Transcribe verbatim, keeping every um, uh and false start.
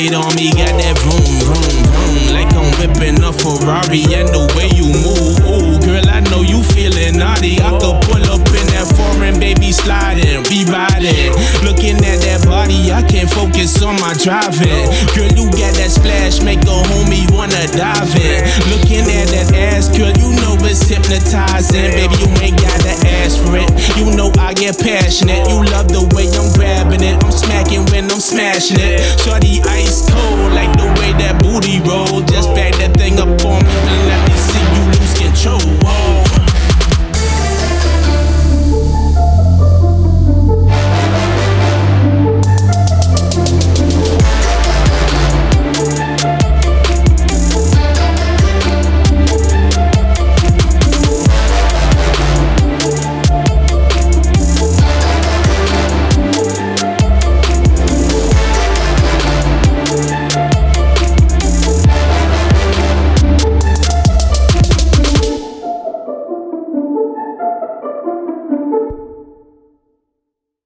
weight on me, got that vroom, vroom, vroom. Like I'm whipping a Ferrari and the way you move. Ooh, girl, I know you feeling naughty. I could pull up in that foreign, baby, sliding, be riding. Looking at that body, I can't focus on my driving. Girl, you got that splash, make a homie wanna dive in. Looking at that ass, girl, you know it's hypnotizing. Baby, you ain't gotta ask for it. You know I get passionate. You love the way I'm grabbing it. I'm smacking when I'm smashing it. Shorty ice